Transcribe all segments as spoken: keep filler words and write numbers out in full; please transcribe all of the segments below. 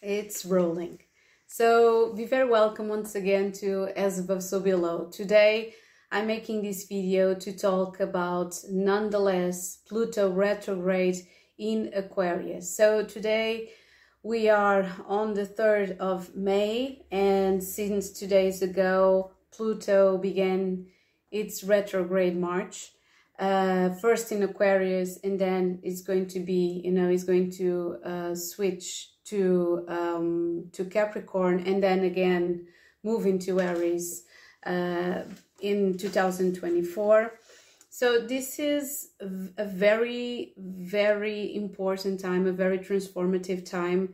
It's rolling. So be very welcome once again to As Above So Below. Today I'm making this video to talk about nonetheless Pluto retrograde in Aquarius. So today we are on the third of May, and since two days ago Pluto began its retrograde march. Uh, first in Aquarius, and then it's going to be, you know, it's going to uh, switch to um, to Capricorn, and then again move into Aries uh, in two thousand twenty-four. So this is a very, very important time, a very transformative time.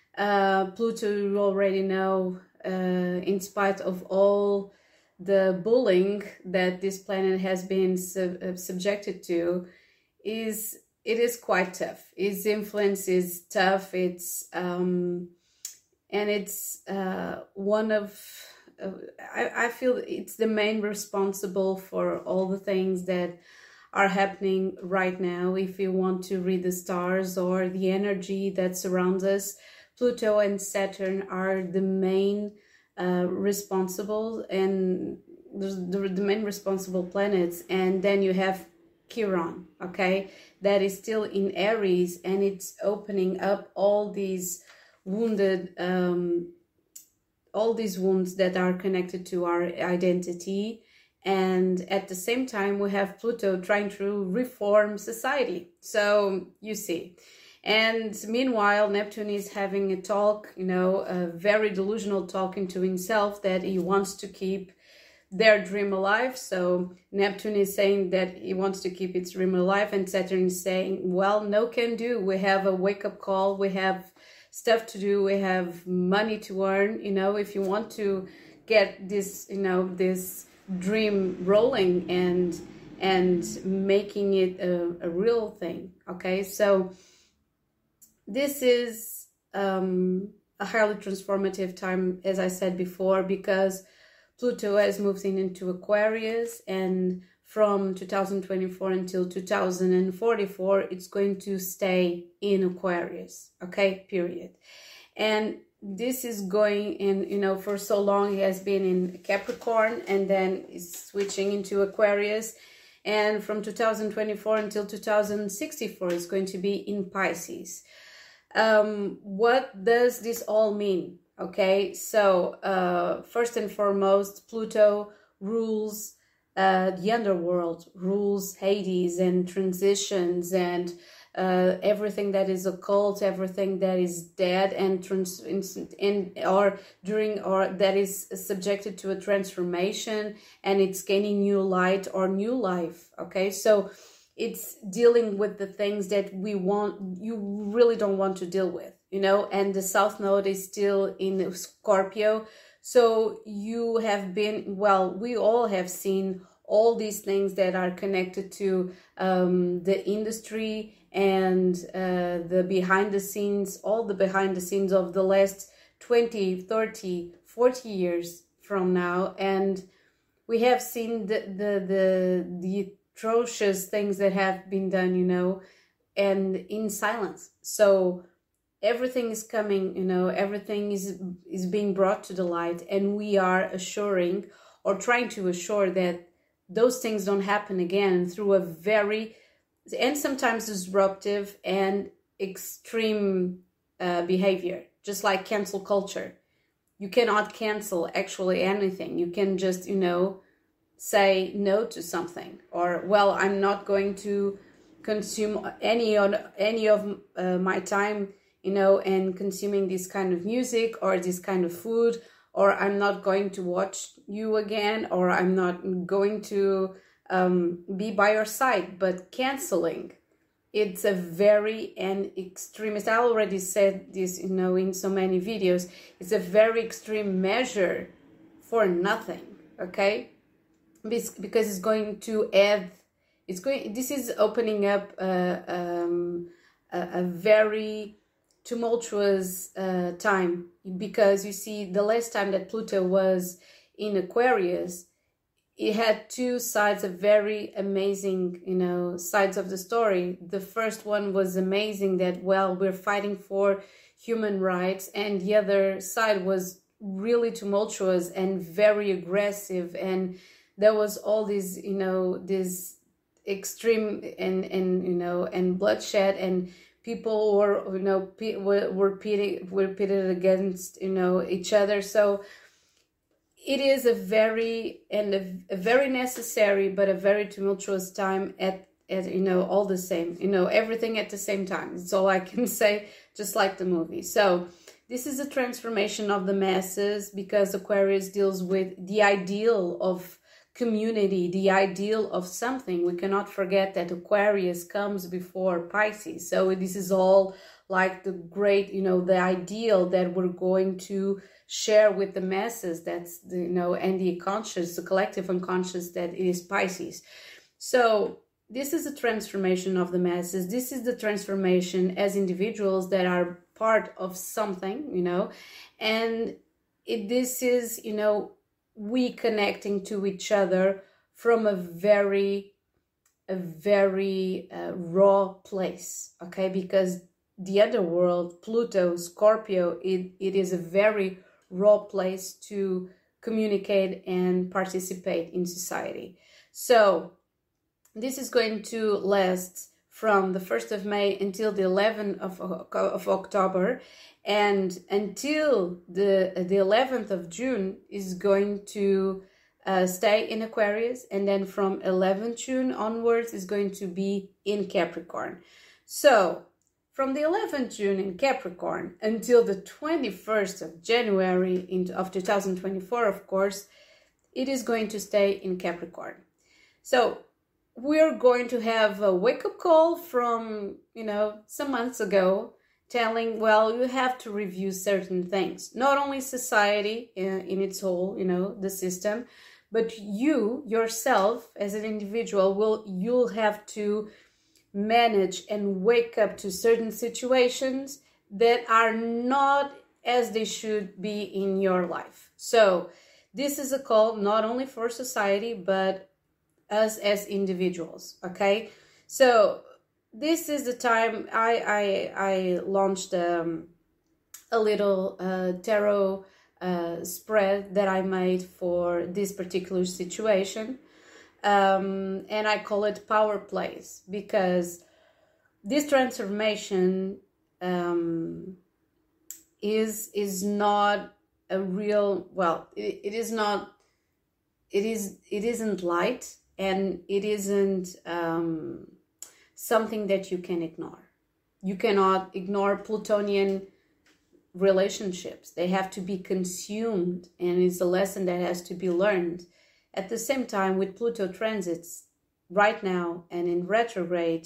Uh, Pluto, you already know, uh, in spite of all the bullying that this planet has been sub uh, subjected to, is it is quite tough. Its influence is tough. It's um, and it's uh, one of uh, I, I feel it's the main responsible for all the things that are happening right now. If you want to read the stars or the energy that surrounds us, Pluto and Saturn are the main Uh, responsible, and the, the main responsible planets. And then you have Chiron, okay, that is still in Aries, and it's opening up all these wounded um, all these wounds that are connected to our identity. And at the same time we have Pluto trying to reform society. So you see. And meanwhile, Neptune is having a talk, you know, a very delusional talk into himself that he wants to keep their dream alive. So Neptune is saying that he wants to keep its dream alive, and Saturn is saying, well, no can do. We have a wake-up call. We have stuff to do. We have money to earn. You know, if you want to get this, you know, this dream rolling and, and making it a, a real thing. Okay, so this is um, a highly transformative time, as I said before, because Pluto has moved in into Aquarius, and from two thousand twenty-four until two thousand forty-four, it's going to stay in Aquarius, okay, period. And this is going in, you know, for so long he has been in Capricorn, and then is switching into Aquarius. And from two thousand twenty-four until two thousand sixty-four, it's going to be in Pisces. Um, what does this all mean? Okay, so uh, first and foremost, Pluto rules uh, the underworld, rules Hades and transitions and uh, everything that is occult, everything that is dead and trans in or during or that is subjected to a transformation, and it's gaining new light or new life. Okay, so it's dealing with the things that we want, you really don't want to deal with, you know, and the South Node is still in Scorpio. So you have been, well, we all have seen all these things that are connected to um, the industry and uh, the behind the scenes, all the behind the scenes of the last twenty, thirty, forty years from now. And we have seen the, the, the, the atrocious things that have been done, you know, and in silence. So everything is coming, you know, everything is is being brought to the light, and we are assuring or trying to assure that those things don't happen again through a very and sometimes disruptive and extreme uh, behavior, just like cancel culture. You cannot cancel actually anything. You can just, you know, say no to something, or, well, I'm not going to consume any on any of uh, my time, you know, and consuming this kind of music or this kind of food, or I'm not going to watch you again, or I'm not going to um, be by your side. But canceling, it's a very and extremist, I already said this, you know, in so many videos, it's a very extreme measure for nothing, okay? Because it's going to add, it's going, this is opening up uh, um, a, a very tumultuous uh, time, because you see, the last time that Pluto was in Aquarius, it had two sides of very amazing, you know, sides of the story. The first one was amazing, that, well, we're fighting for human rights, and the other side was really tumultuous and very aggressive, and there was all these, you know, this extreme and and you know and bloodshed, and people were, you know, were were pitted were pitted against, you know, each other. So it is a very and a, a very necessary but a very tumultuous time at at you know all the same, you know, everything at the same time. It's all I can say, just like the movie. So this is a transformation of the masses, because Aquarius deals with the ideal of community, the ideal of something. We cannot forget that Aquarius comes before Pisces. So this is all like the great, you know, the ideal that we're going to share with the masses. That's the, you know, and the conscious, the collective unconscious, that is Pisces. So this is a transformation of the masses. This is the transformation as individuals that are part of something, you know, and it, this is, you know, we connecting to each other from a very, a very uh, raw place, okay? Because the underworld, Pluto, Scorpio, it, it is a very raw place to communicate and participate in society. So this is going to last from the first of May until the eleventh of, of October, and until the the eleventh of June is going to uh, stay in Aquarius, and then from eleventh June onwards is going to be in Capricorn. So from the eleventh June in Capricorn until the twenty-first of January in, of two thousand twenty-four, of course, it is going to stay in Capricorn. So we're going to have a wake-up call from, you know, some months ago, telling, well, you have to review certain things. Not only society in, in its whole, you know, the system, but you, yourself, as an individual, will you'll have to manage and wake up to certain situations that are not as they should be in your life. So this is a call not only for society, but us as individuals, okay? So this is the time I I, I launched um, a little uh, tarot uh, spread that I made for this particular situation, um, and I call it Power Plays, because this transformation um, is is not a real, well, it, it is not, it is it isn't light. And it isn't um, something that you can ignore. You cannot ignore Plutonian relationships. They have to be consumed, and it's a lesson that has to be learned. At the same time, with Pluto transits right now and in retrograde,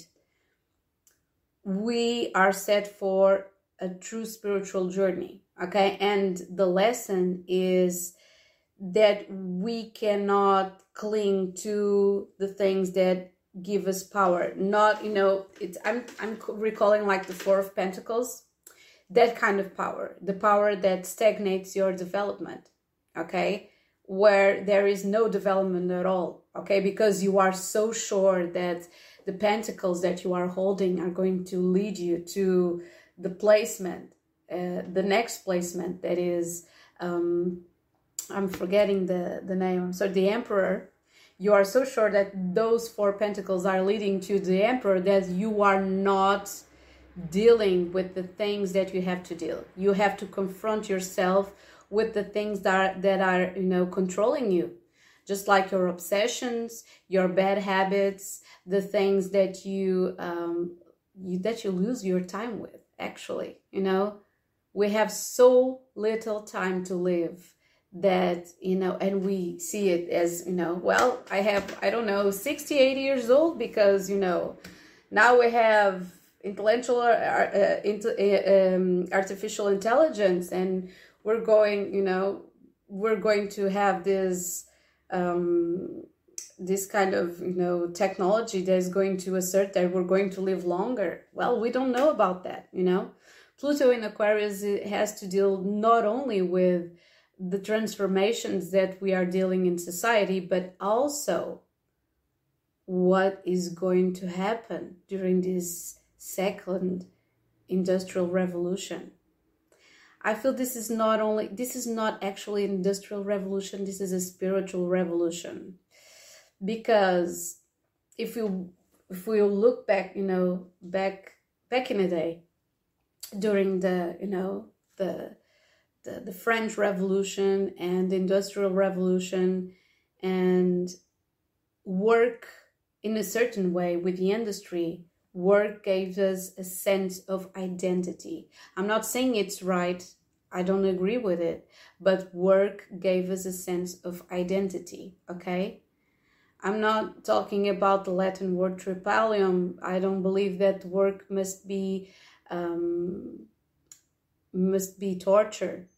we are set for a true spiritual journey, okay? And the lesson is that we cannot cling to the things that give us power. Not, you know, it's I'm I'm recalling like the Four of Pentacles, that kind of power, the power that stagnates your development, okay? Where there is no development at all, okay? Because you are so sure that the pentacles that you are holding are going to lead you to the placement, uh, the next placement that is um I'm forgetting the, the name, I'm sorry, the Emperor. You are so sure that those four pentacles are leading to the Emperor that you are not dealing with the things that you have to deal. You have to confront yourself with the things that are, that are, you know, controlling you. Just like your obsessions, your bad habits, the things that you, um, you that you lose your time with, actually, you know. We have so little time to live, that, you know, and we see it as, you know, well, I have, I don't know, sixty-eight years old, because, you know, now we have intellectual, uh, uh, into, uh, um, artificial intelligence, and we're going, you know, we're going to have this, um, this kind of, you know, technology that is going to assert that we're going to live longer. Well, we don't know about that, you know. Pluto in Aquarius has to deal not only with the transformations that we are dealing in society, but also what is going to happen during this second industrial revolution. I feel this is not only, this is not actually an industrial revolution, this is a spiritual revolution. Because if you if we look back, you know, back back in the day, during the, you know, the the, the French Revolution and the Industrial Revolution, and work in a certain way with the industry, work gave us a sense of identity. I'm not saying it's right, I don't agree with it, but work gave us a sense of identity, okay? I'm not talking about the Latin word tripalium. I don't believe that work must be um, must be torture.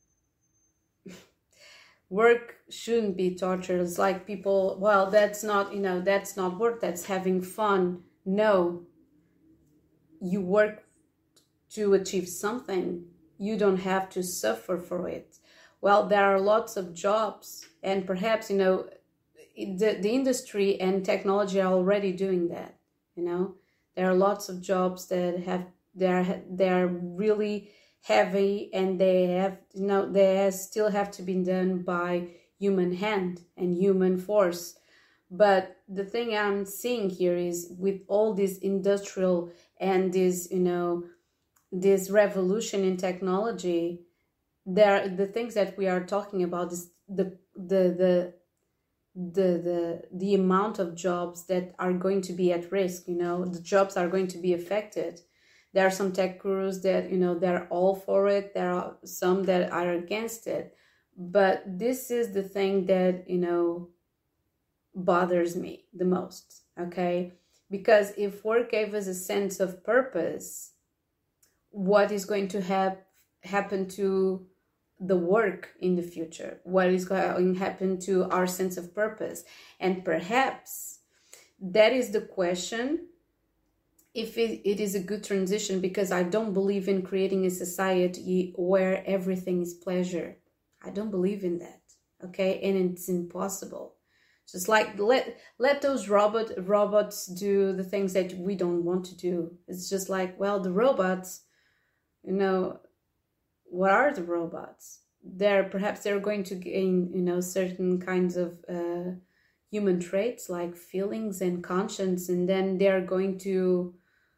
Work shouldn't be torture. It's like people, well, that's not, you know, that's not work, that's having fun. No, you work to achieve something. You don't have to suffer for it. Well, there are lots of jobs, and perhaps, you know, the, the industry and technology are already doing that. You know, there are lots of jobs that have, they're, they're really heavy, and they have, you know, they still have to be done by human hand and human force. But the thing I'm seeing here is, with all this industrial and this, you know, this revolution in technology, there, the things that we are talking about is the the the the the the amount of jobs that are going to be at risk. You know, the jobs are going to be affected. There are some tech gurus that, you know, they're all for it. There are some that are against it. But this is the thing that, you know, bothers me the most, okay? Because if work gave us a sense of purpose, what is going to have happen to the work in the future? What is going to happen to our sense of purpose? And perhaps that is the question, if it, it is a good transition, because I don't believe in creating a society where everything is pleasure. I don't believe in that, okay? And it's impossible. Just like, let let those robot robots do the things that we don't want to do. It's just like, well, the robots, you know, what are the robots? They're, perhaps they're going to gain, you know, certain kinds of uh, human traits like feelings and conscience, and then they're going to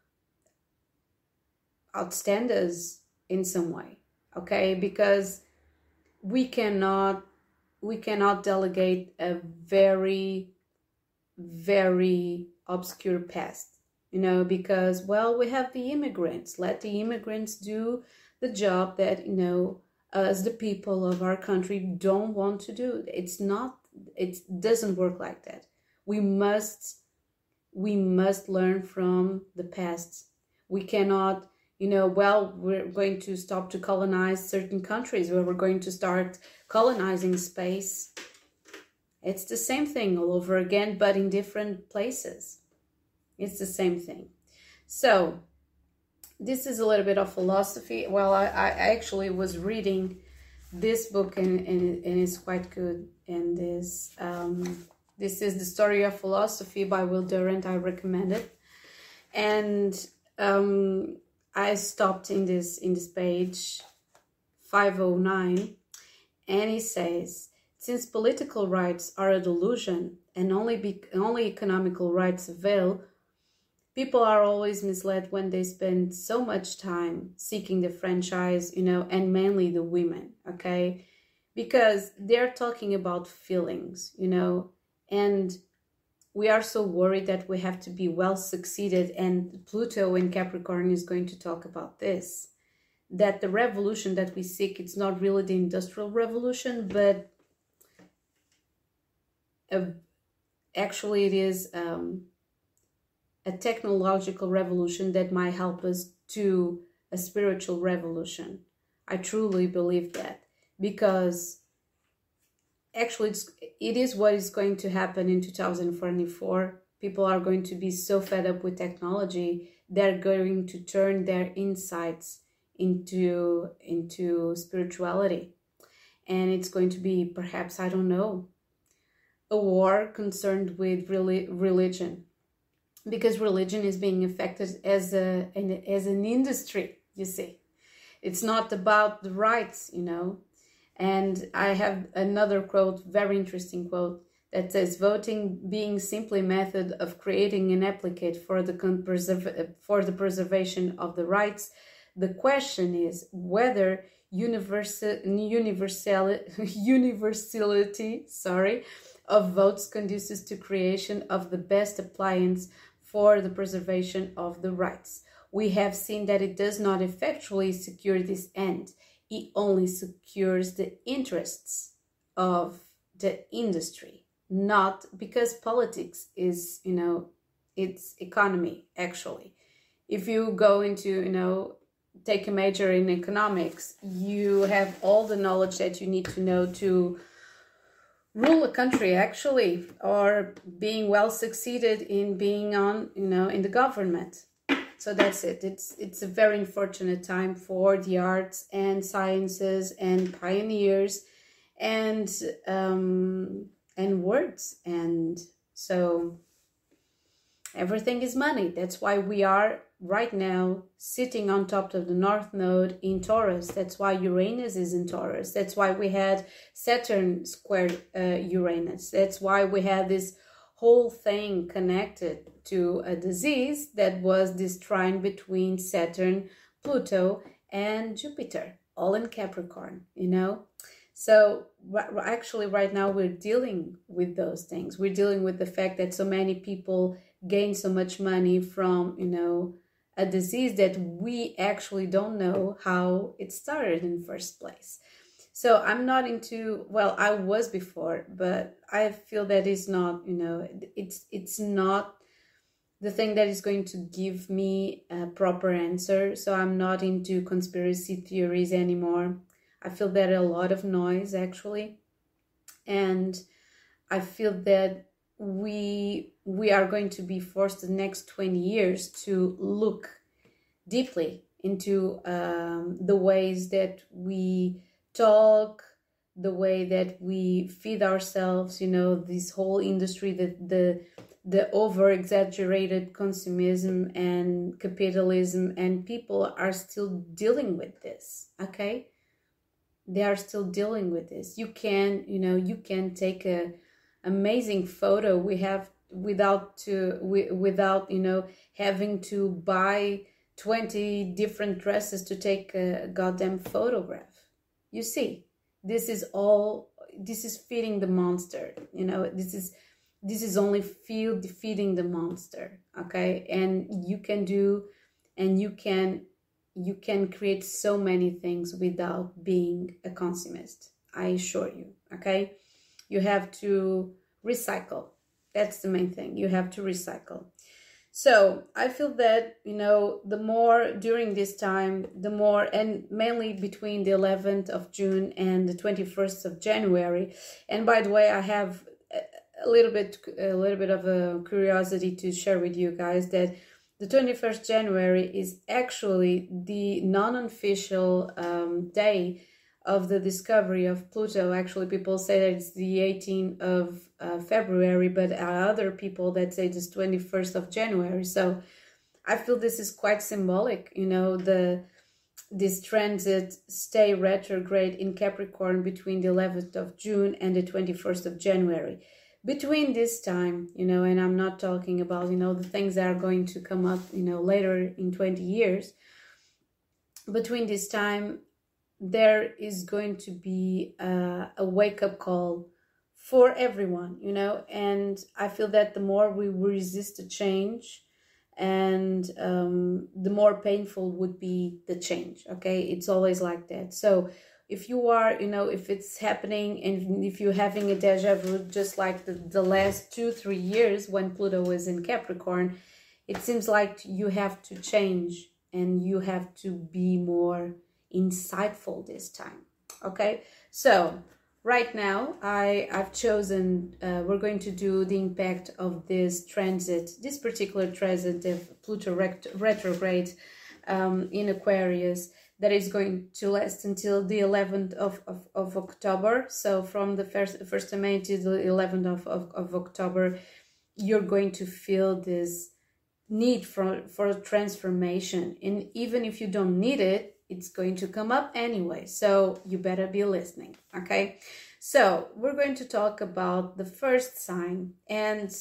outstand us in some way, okay? Because we cannot we cannot delegate a very, very obscure past, you know, because, well, we have the immigrants. Let the immigrants do the job that, you know, us, the people of our country, don't want to do. It's not, it doesn't work like that. We must, we must learn from the past. We cannot, you know, well, we're going to stop to colonize certain countries, where we're going to start colonizing space. It's the same thing all over again, but in different places. It's the same thing. So this is a little bit of philosophy. Well, I, I actually was reading this book, and, and, and it's quite good. And this, um, this is The Story of Philosophy by Will Durant. I recommend it. And um, I stopped in this in this page five oh nine, and he says, since political rights are a delusion and only be, only economical rights avail, people are always misled when they spend so much time seeking the franchise, you know, and mainly the women, okay? Because they're talking about feelings, you know, and we are so worried that we have to be well succeeded, and Pluto in Capricorn is going to talk about this, that the revolution that we seek, it's not really the industrial revolution, but a, actually it is um, a technological revolution that might help us to a spiritual revolution. I truly believe that, because actually, it's, it is what is going to happen in two thousand forty-four. People are going to be so fed up with technology, they're going to turn their insights into, into spirituality. And it's going to be, perhaps, I don't know, a war concerned with really religion. Because religion is being affected as, a, as an industry, you see. It's not about the rights, you know. And I have another quote, very interesting quote, that says, voting being simply a method of creating an applicate for the, preserv for the preservation of the rights, the question is whether universal, universal, universality sorry, of votes conduces to creation of the best appliance for the preservation of the rights. We have seen that it does not effectually secure this end. It only secures the interests of the industry, not because politics is, you know, it's economy, actually. If you go into, you know, take a major in economics, you have all the knowledge that you need to know to rule a country, actually, or being well succeeded in being on, you know, in the government. So that's it. It's it's a very unfortunate time for the arts and sciences and pioneers and um, and words. And so everything is money. That's why we are right now sitting on top of the North Node in Taurus. That's why Uranus is in Taurus. That's why we had Saturn squared uh, Uranus. That's why we had this whole thing connected to a disease that was this trine between Saturn, Pluto, and Jupiter, all in Capricorn, you know? So actually right now we're dealing with those things. We're dealing with the fact that so many people gain so much money from, you know, a disease that we actually don't know how it started in the first place. So I'm not into, well, I was before, but I feel that it's not, you know, it's it's not the thing that is going to give me a proper answer. So I'm not into conspiracy theories anymore. I feel that a lot of noise, actually. And I feel that we we are going to be forced the next twenty years to look deeply into um, the ways that we talk, the way that we feed ourselves, you know, this whole industry, the the the over exaggerated consumerism and capitalism, and people are still dealing with this. Okay, they are still dealing with this. You can, you know, you can take a amazing photo we have without to we, without you know having to buy twenty different dresses to take a goddamn photograph. You see, this is all, this is feeding the monster, you know, this is, this is only feed, feeding the monster, okay? And you can do, and you can, you can create so many things without being a consumist, I assure you, okay? You have to recycle. That's the main thing. You have to recycle. So I feel that, you know, the more during this time, the more, and mainly between the eleventh of June and the twenty-first of January. And by the way, I have a little bit, a little bit of a curiosity to share with you guys that the twenty-first of January is actually the non-official um, day of the discovery of Pluto. Actually, people say that it's the eighteenth of uh, February, but other people that say it's twenty-first of January. So I feel this is quite symbolic, you know, the this transit stay retrograde in Capricorn between the eleventh of June and the twenty-first of January. Between this time, you know, and I'm not talking about, you know, the things that are going to come up, you know, later in twenty years. Between this time, there is going to be a, a wake-up call for everyone, you know, and I feel that the more we resist the change, and um, the more painful would be the change, okay? It's always like that. So if you are, you know, if it's happening and if you're having a deja vu, just like the, the last two, three years when Pluto was in Capricorn, it seems like you have to change and you have to be more insightful this time, okay? So right now I I've chosen uh, we're going to do the impact of this transit, this particular transit of Pluto ret retrograde um, in Aquarius, that is going to last until the eleventh of, of, of October. So from the first first of May to the eleventh of, of, of October, you're going to feel this need for for transformation, and even if you don't need it, it's going to come up anyway, so you better be listening, okay? So we're going to talk about the first sign, and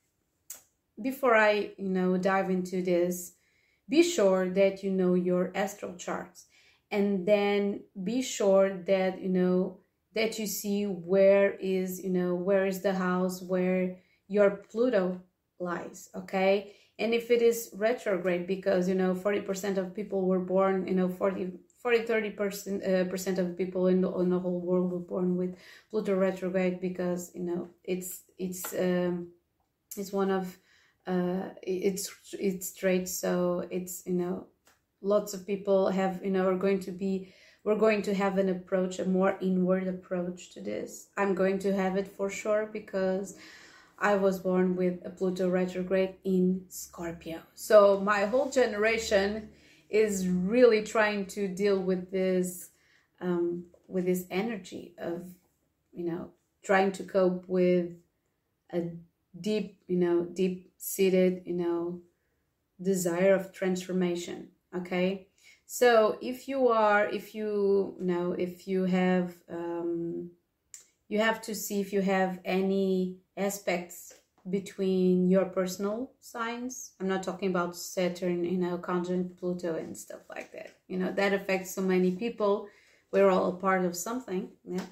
before I, you know, dive into this, be sure that you know your astral charts, and then be sure that, you know, that you see where is, you know, where is the house where your Pluto lies, okay? And if it is retrograde, because, you know, forty percent of people were born, you know, forty, thirty percent uh, percent of people in the, in the whole world were born with Pluto retrograde, because, you know, it's, it's, um, it's one of, uh, it's, it's straight. So it's, you know, lots of people have, you know, are going to be, we're going to have an approach, a more inward approach to this. I'm going to have it for sure, because I was born with a Pluto retrograde in Scorpio. So my whole generation is really trying to deal with this, um, with this energy of, you know, trying to cope with a deep, you know, deep-seated, you know, desire of transformation, okay? So if you are, if you, you know, if you have, um, you have to see if you have any aspects between your personal signs. I'm not talking about Saturn, you know, conjunct Pluto and stuff like that. You know, that affects so many people. We're all a part of something, yeah.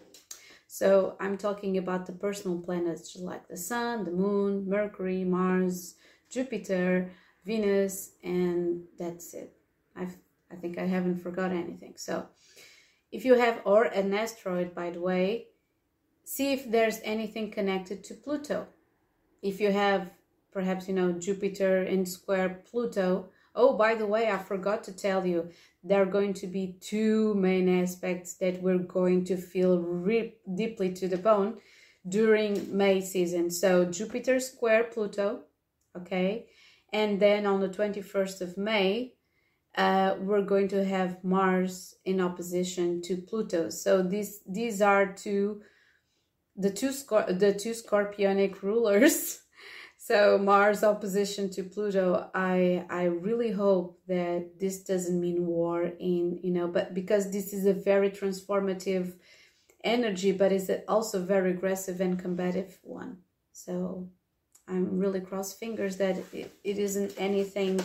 So I'm talking about the personal planets, like the Sun, the Moon, Mercury, Mars, Jupiter, Venus, and that's it. I've, I think I haven't forgot anything. So if you have, or an asteroid, by the way, see if there's anything connected to Pluto. If you have, perhaps, you know, Jupiter in square Pluto. Oh, by the way, I forgot to tell you, there are going to be two main aspects that we're going to feel rip deeply to the bone during May season. So Jupiter square Pluto, okay? And then on the twenty-first of May, uh, we're going to have Mars in opposition to Pluto. So these, these are two... the two Scor the two Scorpionic rulers. So Mars opposition to Pluto. I I really hope that this doesn't mean war in, you know, but because this is a very transformative energy, but is also very aggressive and combative one. So I'm really cross fingers that it, it isn't anything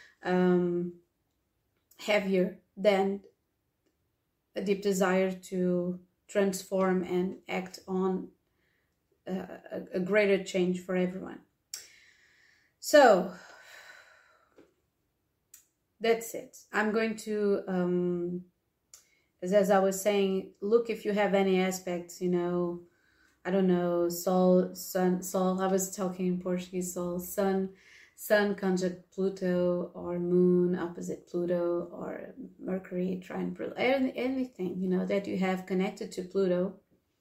um, heavier than a deep desire to transform and act on uh, a, a greater change for everyone. So that's it. I'm going to, um, as, as I was saying, look if you have any aspects, you know, I don't know, Sol, Sun, Sol, I was talking in Portuguese, Sol, Sun, Sun conjunct Pluto, or Moon opposite Pluto, or Mercury trine Pluto, anything, you know, that you have connected to Pluto.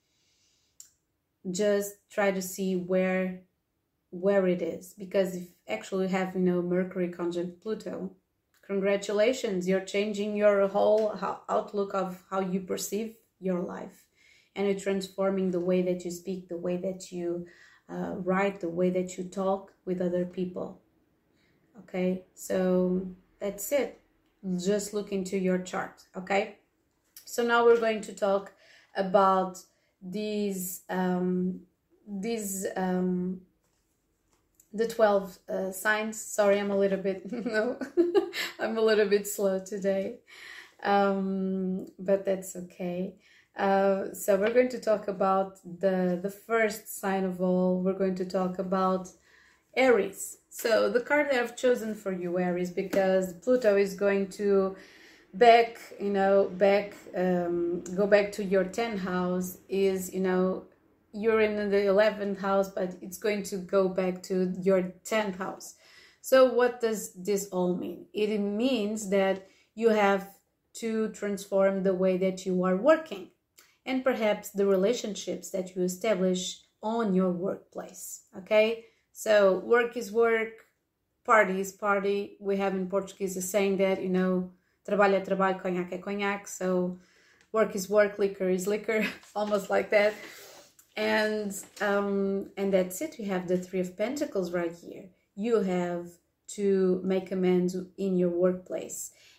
Just try to see where where it is, because if actually you have, you know, Mercury conjunct Pluto, congratulations, you're changing your whole outlook of how you perceive your life, and you're transforming the way that you speak, the way that you uh, write, the way that you talk with other people. Okay, so that's it. Just look into your chart, okay? So now we're going to talk about these, um, these, um, the twelve uh, signs. Sorry, I'm a little bit, no, I'm a little bit slow today, um, but that's okay. Uh, so we're going to talk about the, the first sign of all. We're going to talk about Aries. So the card that I've chosen for you, Aries, because Pluto is going to back, you know, back, um, go back to your tenth house, is, you know, you're in the eleventh house, but it's going to go back to your tenth house. So what does this all mean? It means that you have to transform the way that you are working, and perhaps the relationships that you establish on your workplace, okay? So work is work, party is party. We have in Portuguese a saying that, you know, trabalho é trabalho, conhaque é conhaque. So work is work, liquor is liquor, almost like that. And um, and that's it. You have the Three of Pentacles right here. You have to make amends in your workplace.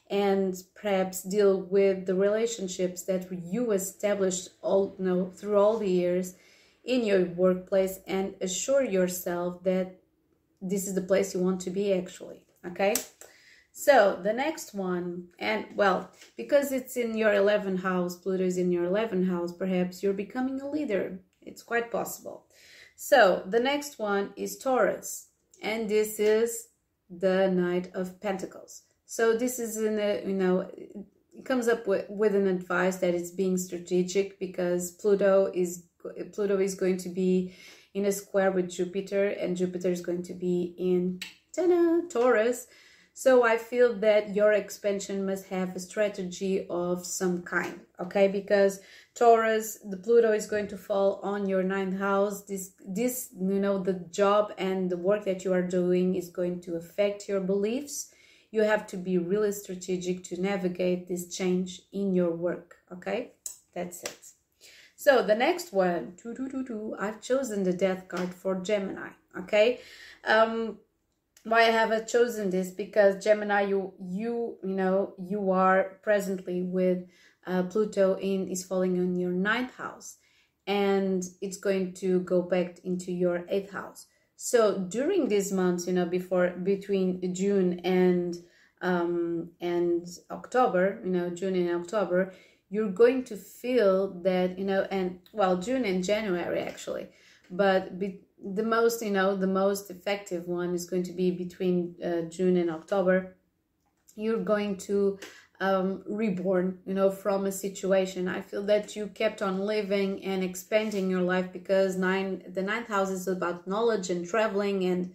and perhaps deal with the relationships that you established all, you know, through all the years in your workplace, and assure yourself that this is the place you want to be actually, okay? So the next one, and well, because it's in your eleventh house, Pluto is in your eleventh house, perhaps you're becoming a leader. It's quite possible. So the next one is Taurus, and this is the Knight of Pentacles. So this is in a, you know, it comes up with, with an advice that it's being strategic, because Pluto is Pluto is going to be in a square with Jupiter, and Jupiter is going to be in ta-da, Taurus. So I feel that your expansion must have a strategy of some kind, okay? Because Taurus, the Pluto is going to fall on your ninth house. This, this, you know, the job and the work that you are doing is going to affect your beliefs. You have to be really strategic to navigate this change in your work, okay? That's it. So the next one, doo, doo, doo, doo, I've chosen the Death card for Gemini, okay? Um, why I have chosen this? Because Gemini, you, you, you know, you are presently with uh, Pluto in is falling on your ninth house, and it's going to go back into your eighth house. So during these months, you know, before between June and um, and October, you know, June and October, you're going to feel that, you know, and well, June and January actually, but be, the most, you know, the most effective one is going to be between uh, June and October. You're going to um, reborn, you know, from a situation. I feel that you kept on living and expanding your life, because nine, the ninth house is about knowledge and traveling and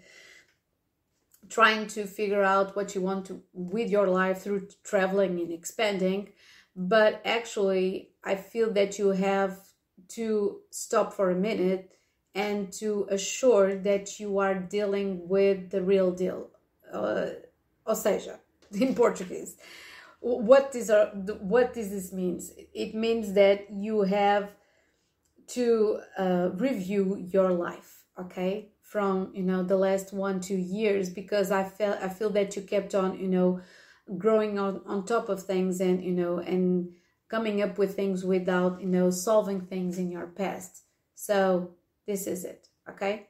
trying to figure out what you want to with your life through traveling and expanding. But actually, I feel that you have to stop for a minute and to assure that you are dealing with the real deal. Uh, ou seja, in Portuguese. What is our, what does this means? It means that you have to uh, review your life, okay, from, you know, the last one two years, because I felt I feel that you kept on, you know, growing on on top of things, and, you know, and coming up with things without, you know, solving things in your past. So this is it, okay?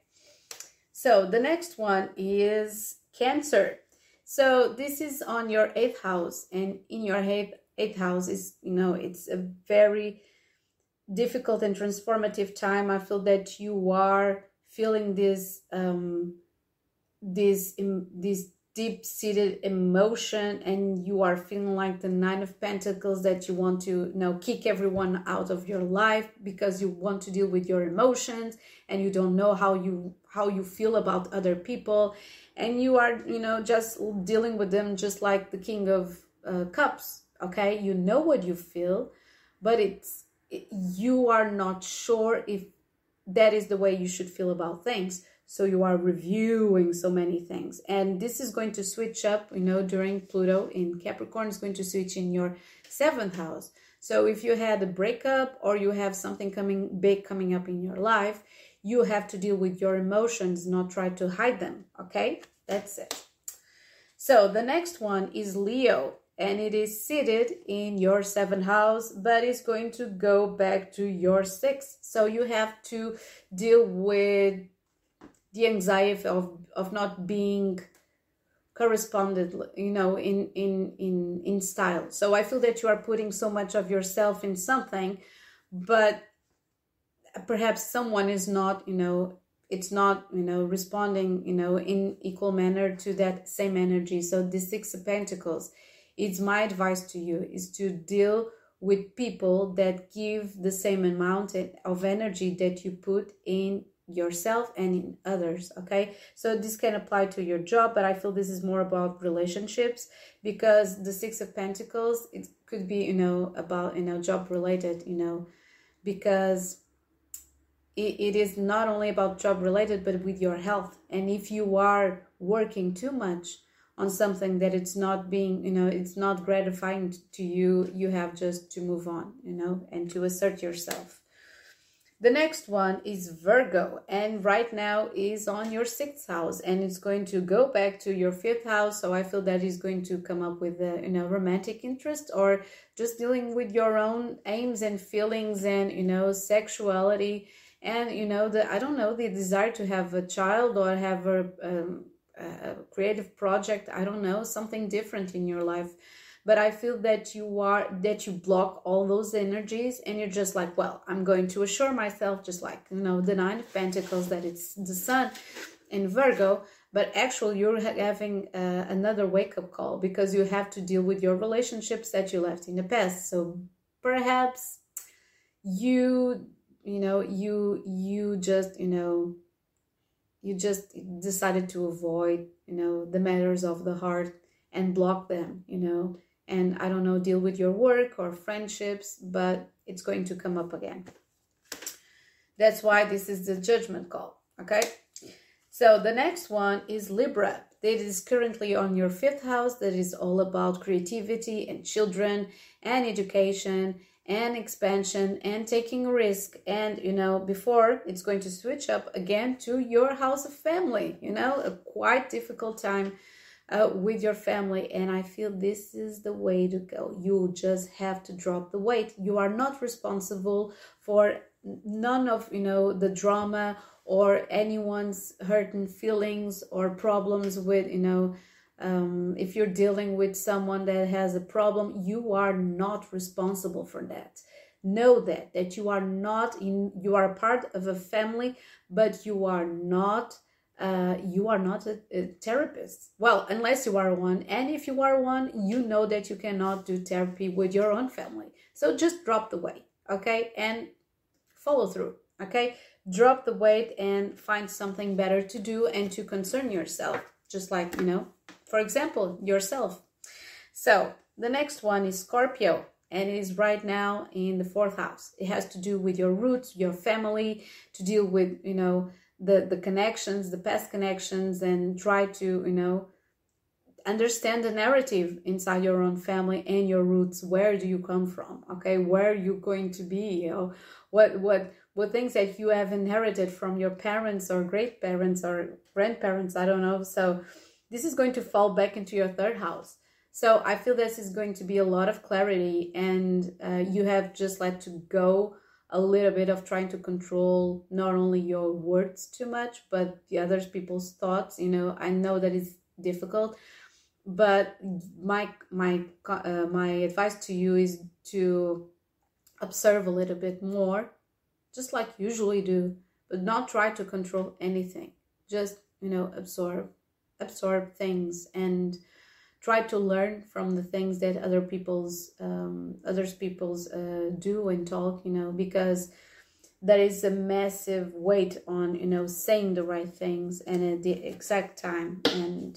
So the next one is Cancer. So this is on your eighth house, and in your eighth, eighth house is, you know, it's a very difficult and transformative time. I feel that you are feeling this, um, this, um, this deep-seated emotion, and you are feeling like the Nine of Pentacles, that you want to, you know, kick everyone out of your life because you want to deal with your emotions, and you don't know how you how you feel about other people, and you are, you know, just dealing with them just like the King of uh, Cups, okay? You know what you feel, but it's it, you are not sure if that is the way you should feel about things. So you are reviewing so many things, and this is going to switch up, you know, during Pluto in Capricorn is going to switch in your seventh house. So if you had a breakup, or you have something coming big coming up in your life, you have to deal with your emotions, not try to hide them, okay? That's it. So the next one is Leo, and it is seated in your seventh house, but it's going to go back to your sixth. So you have to deal with the anxiety of, of not being corresponded, you know, in, in, in, in style. So I feel that you are putting so much of yourself in something, but perhaps someone is not, you know, it's not, you know, responding, you know, in equal manner to that same energy. So the Six of Pentacles, it's my advice to you is to deal with people that give the same amount of energy that you put in yourself and in others, okay? So this can apply to your job, but I feel this is more about relationships, because the Six of Pentacles, it could be, you know, about, you know, job related, you know, because it, it is not only about job related, but with your health. And if you are working too much on something that it's not being, you know, it's not gratifying to you, you have just to move on, you know, and to assert yourself. The next one is Virgo, and right now is on your sixth house, and it's going to go back to your fifth house. So I feel that is going to come up with a, you know, romantic interest, or just dealing with your own aims and feelings and, you know, sexuality, and, you know, the, I don't know, the desire to have a child or have a, um, a creative project. I don't know, something different in your life. But I feel that you are, that you block all those energies, and you're just like, well, I'm going to assure myself, just like, you know, the Nine of Pentacles, that it's the Sun in Virgo. But actually you're having uh, another wake-up call, because you have to deal with your relationships that you left in the past. So perhaps you, you know, you, you just, you know, you just decided to avoid, you know, the matters of the heart and block them, you know. And I don't know, deal with your work or friendships, but it's going to come up again. That's why this is the judgment call, okay? So the next one is Libra. That is currently on your fifth house. That is all about creativity and children and education and expansion and taking a risk. And, you know, before it's going to switch up again to your house of family, you know, a quite difficult time Uh, with your family. And I feel this is the way to go. You just have to drop the weight. You are not responsible for none of, you know, the drama or anyone's hurting feelings or problems with, you know, um, if you're dealing with someone that has a problem, you are not responsible for that. Know that, that you are not in, you are a part of a family, but you are not Uh, you are not a, a therapist. Well, unless you are one. And if you are one, you know that you cannot do therapy with your own family. So just drop the weight, okay? And follow through, okay? Drop the weight and find something better to do and to concern yourself. Just like, you know, for example, yourself. So the next one is Scorpio. And it is right now in the fourth house. It has to do with your roots, your family, to deal with, you know, the the connections, the past connections, and try to, you know, understand the narrative inside your own family and your roots. Where do you come from? Okay, where are you going to be? You know, what what what things that you have inherited from your parents or great parents or grandparents, I don't know. So this is going to fall back into your third house. So I feel this is going to be a lot of clarity, and uh, you have just like to go a little bit of trying to control not only your words too much, but the other people's thoughts. You know, I know that it's difficult, but my my uh, my advice to you is to observe a little bit more, just like you usually do, but not try to control anything. Just, you know, absorb, absorb things, and try to learn from the things that other people's um, others people's uh, do and talk, you know, because there is a massive weight on, you know, saying the right things and at the exact time, and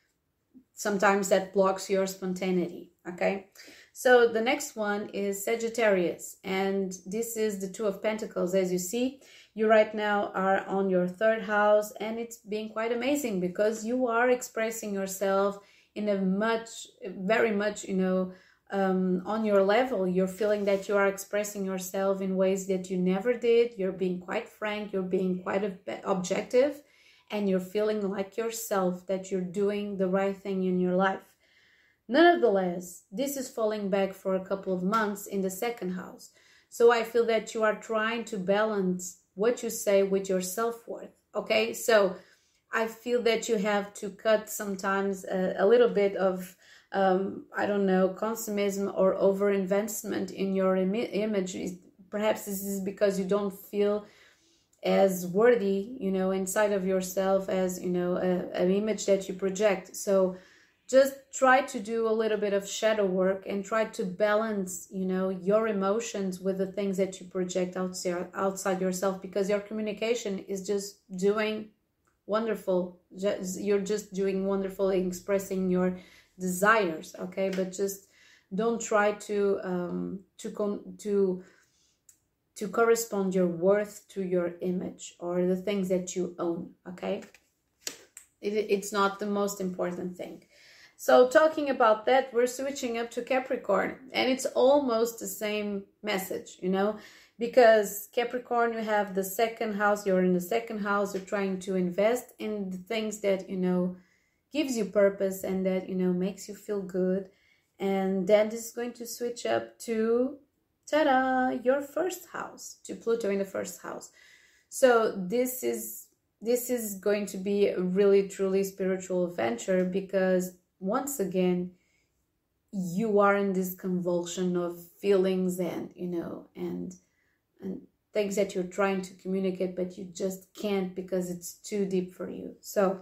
sometimes that blocks your spontaneity, okay? So the next one is Sagittarius, and this is the Two of Pentacles. As you see, you right now are on your third house, and it's being quite amazing because you are expressing yourself in a much, very much, you know, um, on your level. You're feeling that you are expressing yourself in ways that you never did. You're being quite frank, you're being quite objective, and you're feeling like yourself, that you're doing the right thing in your life. Nonetheless, this is falling back for a couple of months in the second house. So I feel that you are trying to balance what you say with your self-worth, okay? So I feel that you have to cut sometimes a, a little bit of, um, I don't know, consumism or over-investment in your Im image. Perhaps this is because you don't feel as worthy, you know, inside of yourself as, you know, a, an image that you project. So just try to do a little bit of shadow work and try to balance, you know, your emotions with the things that you project outside, outside yourself, because your communication is just doing wonderful. Just, you're just doing wonderful in expressing your desires, okay? But just don't try to um, to con to to correspond your worth to your image or the things that you own, okay? It, it's not the most important thing. So talking about that, we're switching up to Capricorn, and it's almost the same message, you know, because Capricorn, you have the second house, you're in the second house, you're trying to invest in the things that, you know, gives you purpose and that, you know, makes you feel good. And then this is going to switch up to, ta-da, your first house, to Pluto in the first house. So this is, this is going to be a really, truly spiritual adventure, because once again, you are in this convulsion of feelings and, you know, and, and things that you're trying to communicate, but you just can't because it's too deep for you. So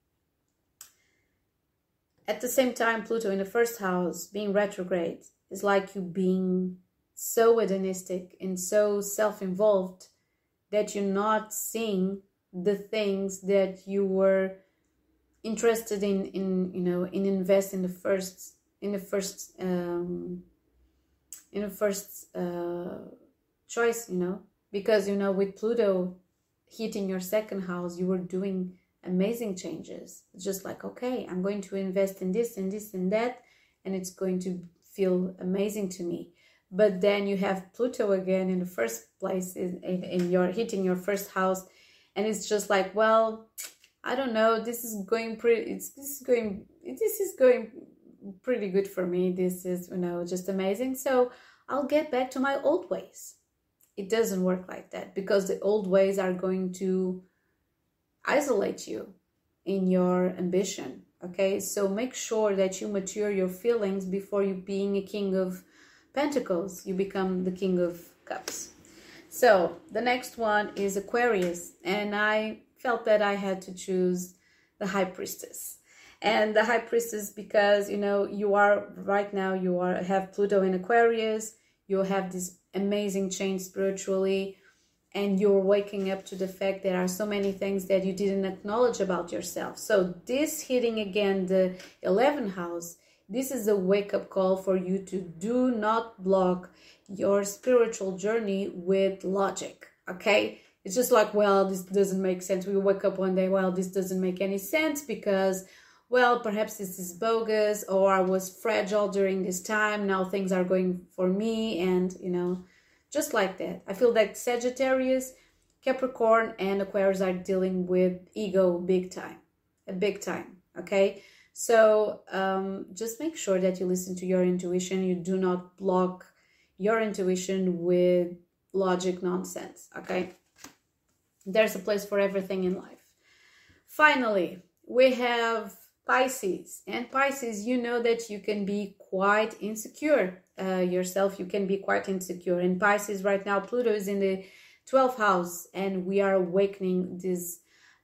at the same time, Pluto in the first house being retrograde is like you being so hedonistic and so self-involved that you're not seeing the things that you were interested in, in, you know, in invest in the first, in the first, um, in the first uh, choice, you know, because, you know, with Pluto hitting your second house, you were doing amazing changes. It's just like, okay, I'm going to invest in this and this and that, and it's going to feel amazing to me. But then you have Pluto again in the first place, in, in, in your hitting your first house, and it's just like, well, I don't know, this is going pretty, it's this is going, this is going pretty good for me. This is, you know, just amazing. So I'll get back to my old ways. It doesn't work like that, because the old ways are going to isolate you in your ambition. Okay, so make sure that you mature your feelings before you being a king of pentacles, you become the king of cups. So the next one is Aquarius, and I felt that I had to choose the High Priestess. And the High Priestess, because, you know, you are right now, you are have Pluto in Aquarius, you have this amazing change spiritually, and you're waking up to the fact there are so many things that you didn't acknowledge about yourself. So this hitting again the eleventh house, this is a wake-up call for you to do not block your spiritual journey with logic, okay? It's just like, well, this doesn't make sense. We wake up one day, well, this doesn't make any sense because, well, perhaps this is bogus, or I was fragile during this time. Now things are going for me, and, you know, just like that. I feel that Sagittarius, Capricorn, and Aquarius are dealing with ego big time, a big time, okay? So um, just make sure that you listen to your intuition. You do not block your intuition with logic nonsense, okay? There's a place for everything in life. Finally, we have Pisces. And Pisces, you know that you can be quite insecure uh, yourself. You can be quite insecure. And Pisces right now, Pluto is in the twelfth house, and we are awakening this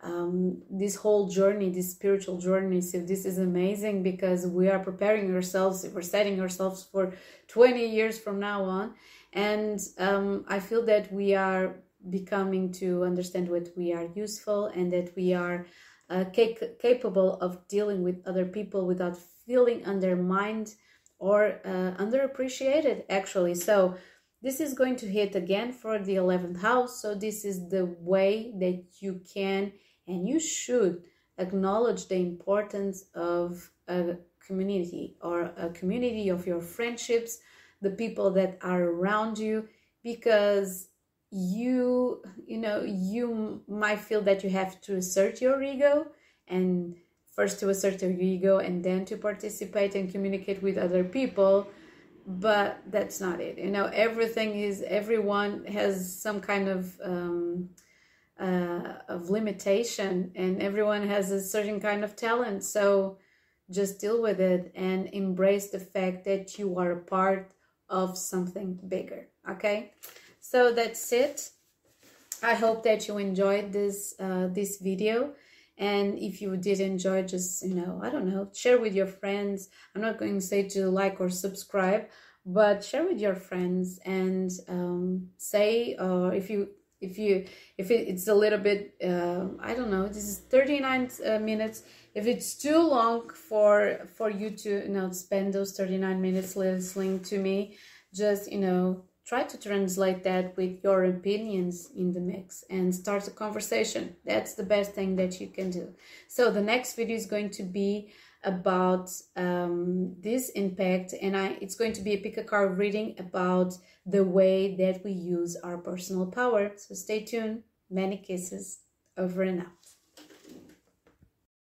um, this whole journey, this spiritual journey. So this is amazing, because we are preparing ourselves, we're setting ourselves for twenty years from now on. And um, I feel that we are becoming to understand what we are useful, and that we are uh, cap capable of dealing with other people without feeling undermined or uh, underappreciated, actually. So this is going to hit again for the eleventh house. So this is the way that you can and you should acknowledge the importance of a community, or a community of your friendships, the people that are around you, because you, you know, you might feel that you have to assert your ego, and first to assert your ego and then to participate and communicate with other people. But that's not it. You know, everything is, everyone has some kind of um, uh, of limitation, and everyone has a certain kind of talent. So just deal with it and embrace the fact that you are a part of something bigger. Okay, so that's it. I hope that you enjoyed this uh, this video. And if you did enjoy, just, you know, I don't know, share with your friends. I'm not going to say to like or subscribe, but share with your friends, and um, say, or uh, if you, if you, if it, it's a little bit, uh, I don't know, this is thirty-nine uh, minutes. If it's too long for, for you to, you know, spend those thirty-nine minutes listening to me, just, you know, try to translate that with your opinions in the mix and start a conversation. That's the best thing that you can do. So the next video is going to be about um, this impact, and I it's going to be a pick a card reading about the way that we use our personal power. So stay tuned. Many kisses. Over and out.